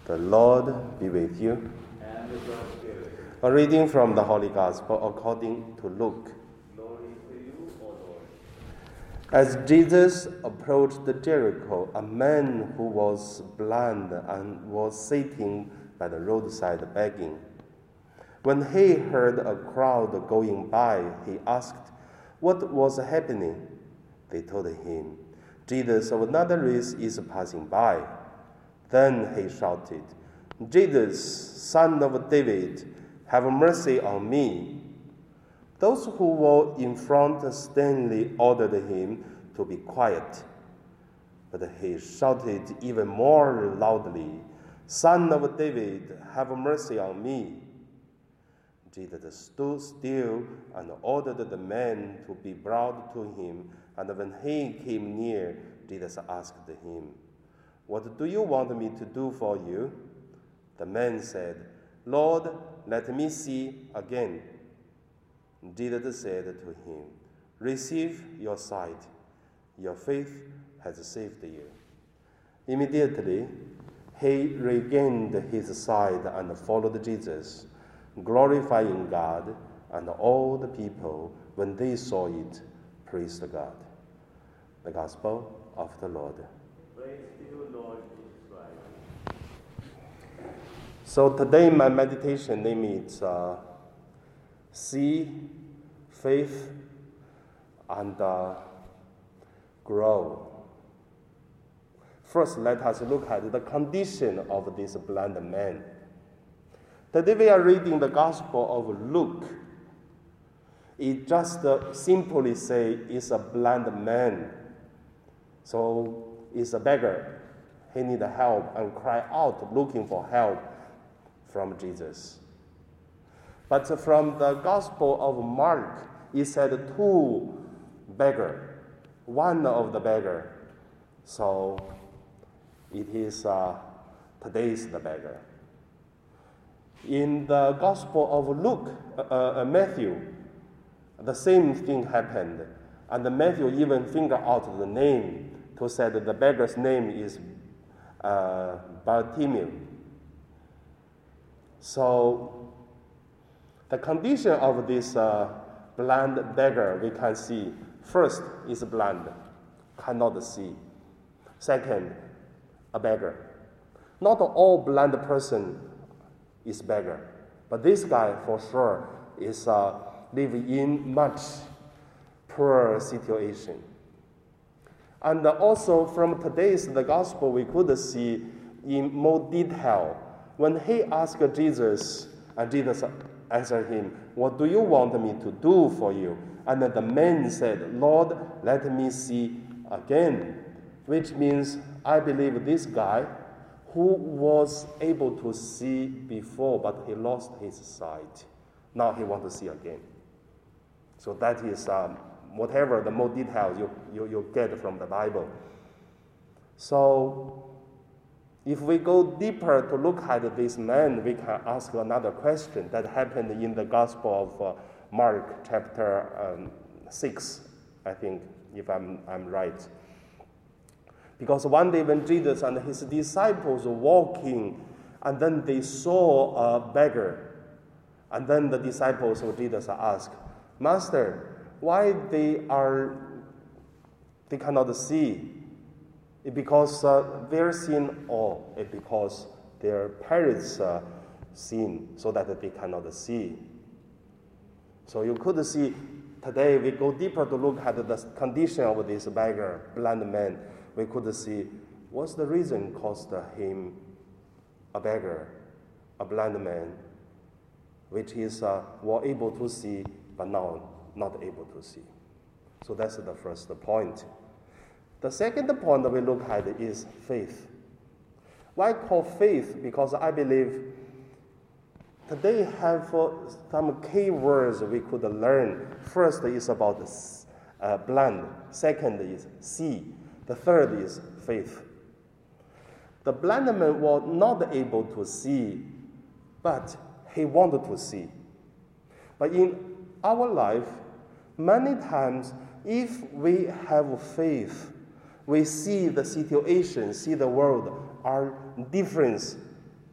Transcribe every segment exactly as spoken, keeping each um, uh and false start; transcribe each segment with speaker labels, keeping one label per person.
Speaker 1: The Lord be with you.
Speaker 2: And with your spirit.
Speaker 1: A reading from the Holy Gospel according to Luke.
Speaker 2: Glory to you, O Lord.
Speaker 1: As Jesus approached Jericho, a man who was blind and was sitting by the roadside begging. When he heard a crowd going by, he asked what was happening. They told him, Jesus of Nazareth is passing by. Then he shouted, Jesus, son of David, have mercy on me. Those who were in front sternly ordered him to be quiet. But he shouted even more loudly, Son of David, have mercy on me. Jesus stood still and ordered the man to be brought to him. And when he came near, Jesus asked him, What do you want me to do for you? The man said, Lord, let me see again. Jesus said to him, Receive your sight. Your faith has saved you. Immediately, he regained his sight and followed Jesus, glorifying God, and all the people, when they saw it, praised God. The Gospel of the Lord.
Speaker 2: Praise to you, Lord Jesus Christ.
Speaker 1: So today my meditation name is uh, See, Faith, and uh, Grow. First, let us look at the condition of this blind man. Today we are reading the Gospel of Luke. It just uh, simply say it's a blind man. So it's a beggar. He need help and cry out looking for help from Jesus. But from the Gospel of Mark, it said two beggar, one of the beggar. So it is uh, today's the beggar. In the Gospel of Luke, uh, uh, Matthew, the same thing happened, and Matthew even figured out the name to say that the beggar's name is uh, Bartimaeus. So the condition of this uh, blind beggar we can see. First is blind, cannot see. Second, a beggar. Not all blind person is beggar, but this guy for sure is uh, living in much poor situation. And also from today's the gospel, we could see in more detail when he asked Jesus, and Jesus answered him, What do you want me to do for you? And the man said, Lord, let me see again, which means I believe this guy who was able to see before, but he lost his sight. Now he wants to see again. So that is um, whatever the more details you, you, you get from the Bible. So if we go deeper to look at this man, we can ask another question that happened in the Gospel of uh, Mark chapter um, six, I think, if I'm, I'm right. Because one day when Jesus and his disciples were walking, and then they saw a beggar, and then the disciples of Jesus asked, Master, why they are they cannot see? It because uh, their sin, or it because their parents' uh, sin, so that they cannot see. So you could see today we go deeper to look at the condition of this beggar, blind man. We could see what's the reason caused him a beggar, a blind man, which is uh, were able to see but now not able to see. So that's the first point. The second point we look at is faith. Why call faith? Because I believe today have uh, some key words we could learn. First is about uh, blind. Second is see. The third is faith. The blind man was not able to see, but he wanted to see. But in our life, many times, if we have faith, we see the situation, see the world are different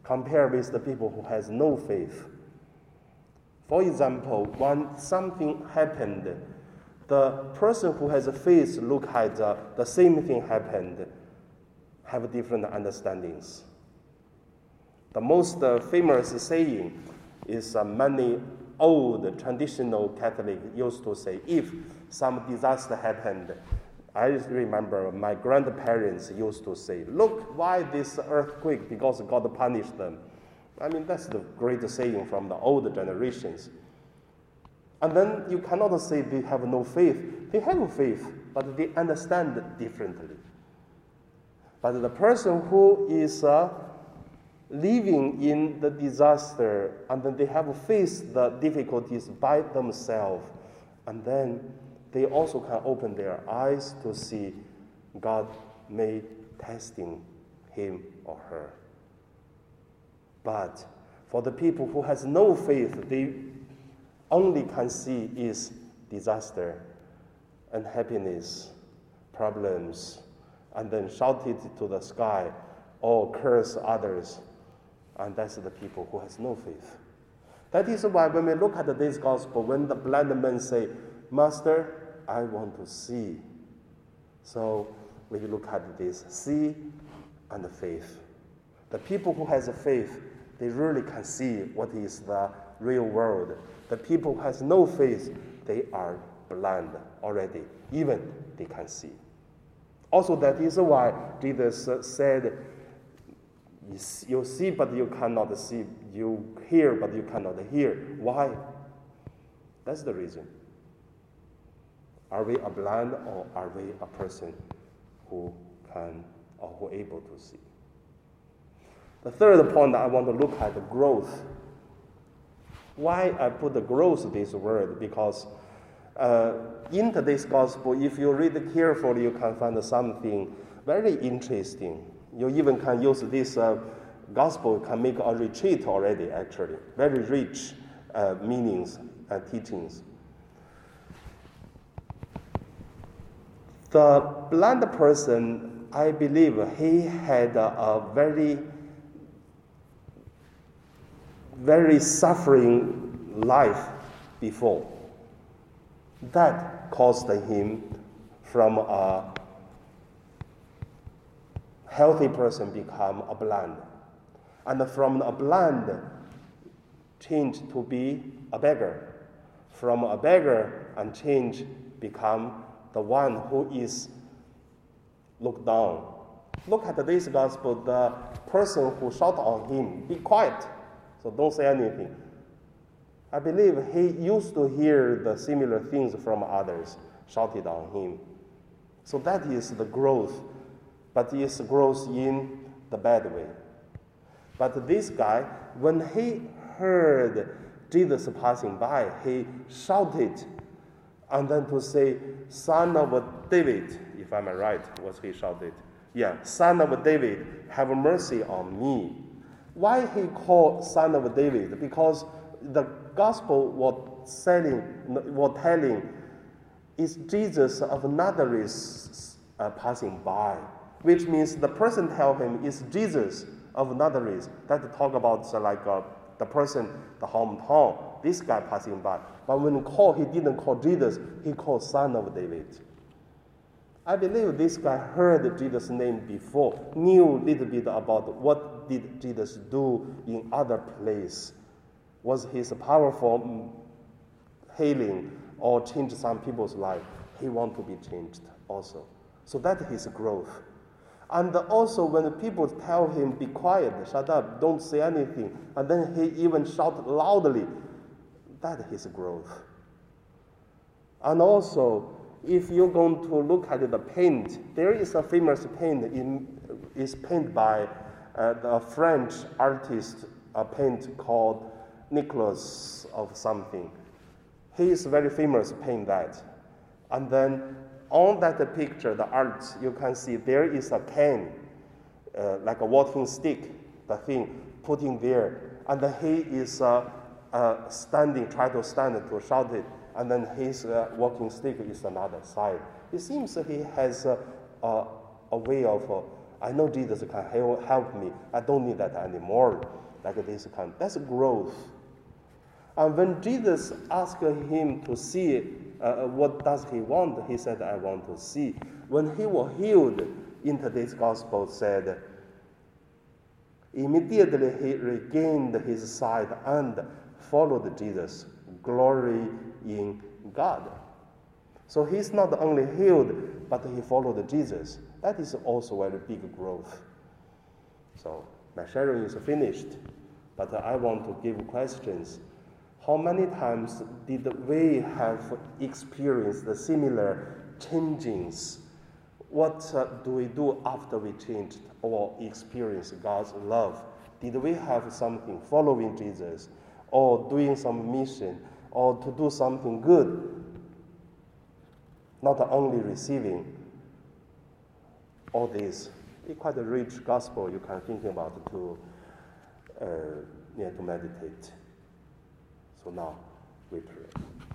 Speaker 1: compared with the people who has no faith. For example, when something happened, the person who has faith look at uh, the same thing happened, have different understandings. The most uh, famous saying is uh, many old traditional Catholic used to say, if some disaster happened, I remember my grandparents used to say, look, why this earthquake? Because God punished them. I mean, that's the great saying from the old generations. And then you cannot say they have no faith. They have faith, but they understand differently. But the person who is uh, living in the disaster, and then they have faced the difficulties by themselves, and then they also can open their eyes to see God may testing him or her. But for the people who has no faith, they only can see is disaster, unhappiness, problems, and then shout it to the sky or curse others. And that's the people who has no faith. That is why when we look at this gospel, when the blind man say, Master, I want to see. So we look at this, see and faith. The people who has faith, they really can see what is the real world. The people who has no faith, they are blind already, even they can see. Also, that is why Jesus said, you see but you cannot see, you hear but you cannot hear. Why? That's the reason. Are we a blind, or are we a person who can or who able to see? The third point I want to look at the growth. Why I put the growth this word? Because uh, in today's gospel, if you read carefully, you can find something very interesting. You even can use this uh, gospel, can make a retreat already, actually. Very rich uh, meanings and teachings. The blind person, I believe he had a, a very, very suffering life before. That caused him from a healthy person become a blind. And from a blind, change to be a beggar. From a beggar and change become the one who is looked down. Look at this gospel, the person who shouted on him, be quiet, so don't say anything. I believe he used to hear the similar things from others shouted on him. So that is the growth, but it's growth in the bad way. But this guy, when he heard Jesus passing by, he shouted, and then to say, Son of David, if I'm right, was he shouted? Yeah, Son of David, have mercy on me. Why he called Son of David? Because the gospel was selling, was telling, is Jesus of Nazareth uh, passing by, which means the person tell him is Jesus of Nazareth. That talk about uh, like uh, the person, the hometown, this guy passing by. But when he called, he didn't call Jesus, he called Son of David. I believe this guy heard Jesus' name before, knew a little bit about what did Jesus do in other place. Was his powerful healing or change some people's life? He want to be changed also. So that is growth. And also when people tell him, be quiet, shut up, don't say anything, and then he even shout loudly, that is growth. And also, if you're going to look at the paint, there is a famous paint, in, is painted by uh, the French artist, a paint called Nicholas of something. He is very famous paint that. And then on that picture, the art, you can see there is a cane, uh, like a walking stick, the thing, putting there. And then he is uh, uh, standing, try to stand to shout it. And then his uh, walking stick is another side. It seems he has uh, uh, a way of uh, I know Jesus can help, help me. I don't need that anymore. Like this kind. That's growth. And when Jesus asked him to see uh, what does he want, he said, I want to see. When he was healed, in today's gospel said, immediately he regained his sight and followed Jesus, glory in God. So he's not only healed, but he followed Jesus. That is also very big growth. So my sharing is finished, but I want to give questions. How many times did we have experienced the similar changings? What uh, do we do after we changed or experienced God's love? Did we have something following Jesus, or doing some mission, or to do something good? Not only receiving all this. It's quite a rich gospel you can think about to, uh, yeah, to meditate. So now we pray.